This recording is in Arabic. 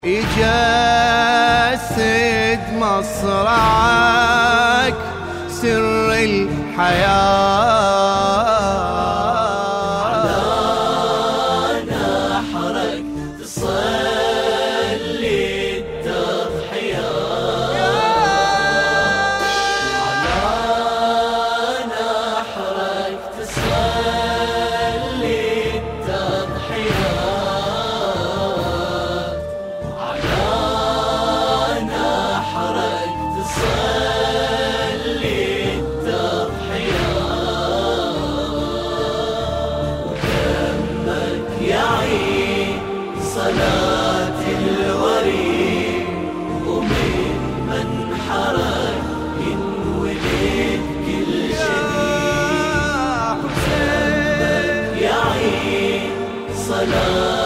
يجسد مصرعك سر الحياة، على نحرك تصلي التضحية، على نحرك تصلي التضحية، صلاة الوريد ومن منحرك ينولد كل شهيد، دمك يعيد صلاة